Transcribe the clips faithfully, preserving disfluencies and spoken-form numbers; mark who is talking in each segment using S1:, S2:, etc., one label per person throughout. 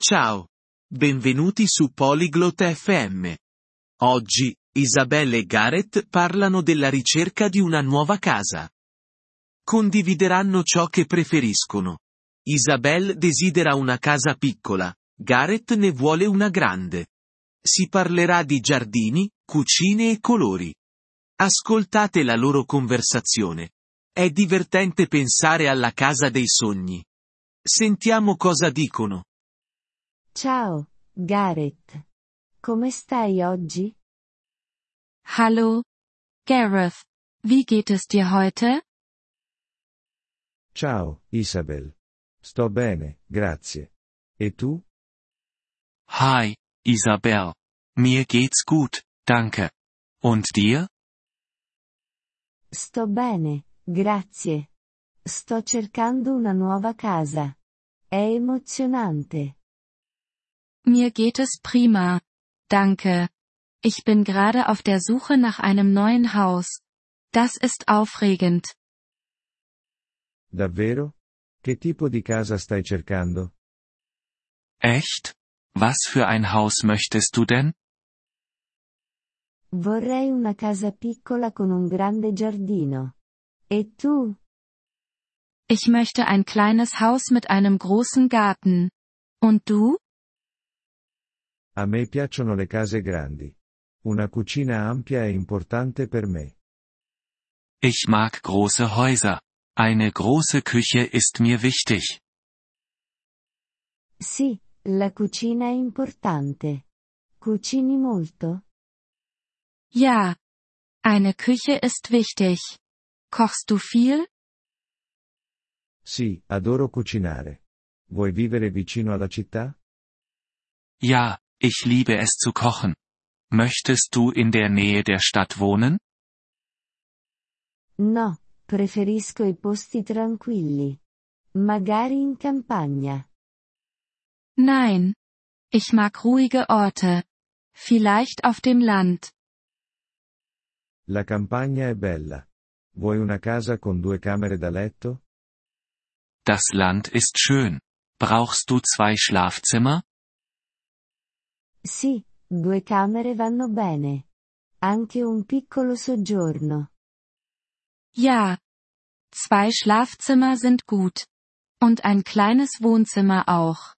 S1: Ciao. Benvenuti su Polyglot F M. Oggi, Isabelle e Gareth parlano della ricerca di una nuova casa. Condivideranno ciò che preferiscono. Isabelle desidera una casa piccola, Gareth ne vuole una grande. Si parlerà di giardini, cucine e colori. Ascoltate la loro conversazione. È divertente pensare alla casa dei sogni. Sentiamo cosa dicono.
S2: Ciao, Gareth. Come stai oggi?
S3: Hallo, Gareth. Wie geht es dir heute?
S4: Ciao, Isabel. Sto bene, grazie. E tu?
S5: Hi, Isabel. Mir geht's gut, danke. Und dir?
S2: Sto bene, grazie. Sto cercando una nuova casa. È emozionante.
S3: Mir geht es prima. Danke. Ich bin gerade auf der Suche nach einem neuen Haus. Das ist aufregend.
S4: Davvero? Che tipo di casa stai cercando?
S5: Echt? Was für ein Haus möchtest du denn?
S2: Vorrei una casa piccola con un grande giardino. E tu?
S3: Ich möchte ein kleines Haus mit einem großen Garten. Und du?
S4: A me piacciono le case grandi. Una cucina ampia è importante per me.
S5: Ich mag große Häuser. Eine große Küche ist mir wichtig.
S2: Sì, la cucina è importante. Cucini molto?
S3: Ja. Eine Küche ist wichtig. Kochst du viel?
S4: Sì, adoro cucinare. Vuoi vivere vicino alla città?
S5: Ja, ich liebe es zu kochen. Möchtest du in der Nähe der Stadt wohnen?
S2: No, preferisco i posti tranquilli. Magari in campagna.
S3: Nein. Ich mag ruhige Orte. Vielleicht auf dem Land.
S4: La campagna è bella. Vuoi una casa con due camere da letto?
S5: Das Land ist schön. Brauchst du zwei Schlafzimmer?
S2: Sì, due camere vanno bene. Anche un piccolo soggiorno.
S3: Ja. Zwei Schlafzimmer sind gut. Und ein kleines Wohnzimmer auch.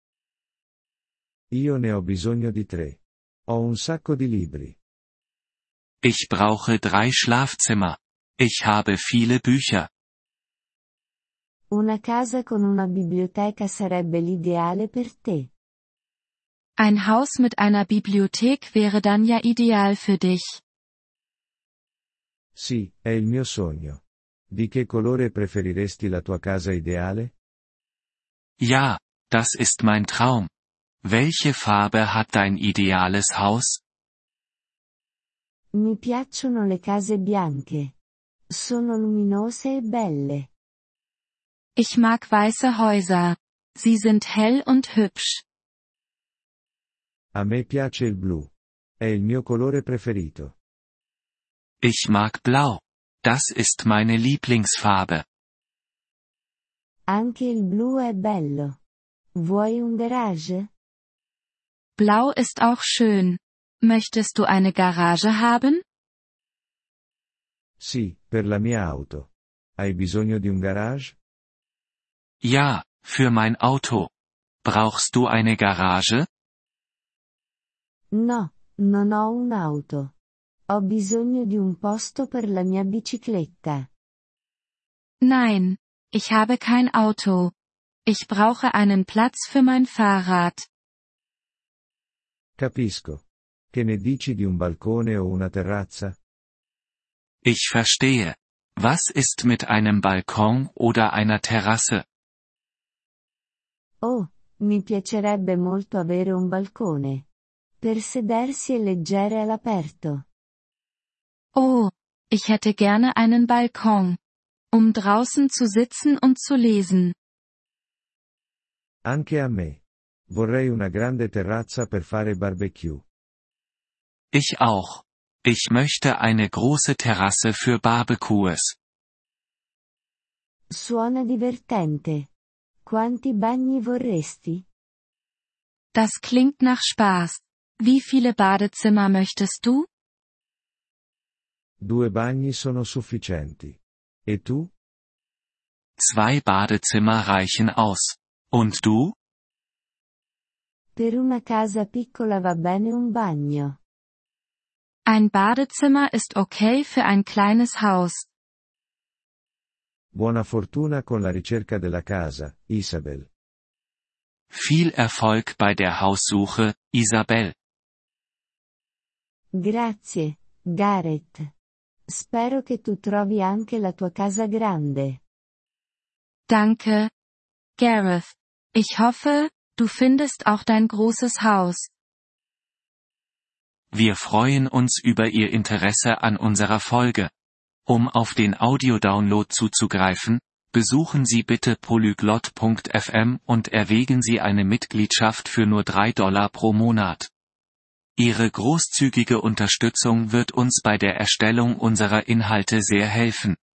S4: Io ne ho bisogno di tre. Ho un sacco di libri.
S5: Ich brauche drei Schlafzimmer. Ich habe viele Bücher.
S2: Una casa con una biblioteca sarebbe l'ideale per te.
S3: Ein Haus mit einer Bibliothek wäre dann ja ideal für dich.
S4: Sì, è il mio sogno. Di che colore preferiresti la tua casa ideale?
S5: Ja, das ist mein Traum. Welche Farbe hat dein ideales Haus?
S2: Mi piacciono le case bianche. Sono luminose e belle.
S3: Ich mag weiße Häuser. Sie sind hell und hübsch.
S4: A me piace il blu. È il mio colore preferito.
S5: Ich mag Blau. Das ist meine Lieblingsfarbe.
S2: Anche il blu è bello. Vuoi un garage?
S3: Blau ist auch schön. Möchtest du eine Garage haben?
S4: Sì, per la mia auto. Hai bisogno di un garage?
S5: Ja, für mein Auto. Brauchst du eine Garage?
S2: No, non ho un'auto. Ho bisogno di un posto per la mia bicicletta.
S3: Nein, ich habe kein Auto. Ich brauche einen Platz für mein Fahrrad.
S4: Capisco. Che ne dici di un balcone o una terrazza?
S5: Ich verstehe. Was ist mit einem Balkon oder einer Terrasse?
S2: Oh, mi piacerebbe molto avere un balcone. Per sedersi e leggere all'aperto.
S3: Oh, ich hätte gerne einen Balkon. Um draußen zu sitzen und zu lesen.
S4: Anche a me. Vorrei una grande terrazza per fare barbecue.
S5: Ich auch. Ich möchte eine große Terrasse für Barbecues.
S2: Suona divertente. Quanti bagni vorresti?
S3: Das klingt nach Spaß. Wie viele Badezimmer möchtest du?
S4: Due bagni sono sufficienti. E tu?
S5: Zwei Badezimmer reichen aus. Und du?
S2: Per una casa piccola va bene un bagno.
S3: Ein Badezimmer ist okay für ein kleines Haus.
S4: Buona fortuna con la ricerca della casa, Isabel.
S5: Viel Erfolg bei der Haussuche, Isabel.
S2: Grazie, Gareth. Spero che tu trovi anche la tua casa grande.
S3: Danke, Gareth. Ich hoffe, du findest auch dein großes Haus.
S5: Wir freuen uns über Ihr Interesse an unserer Folge. Um auf den Audiodownload zuzugreifen, besuchen Sie bitte polyglot punkt f m und erwägen Sie eine Mitgliedschaft für nur drei Dollar pro Monat. Ihre großzügige Unterstützung wird uns bei der Erstellung unserer Inhalte sehr helfen.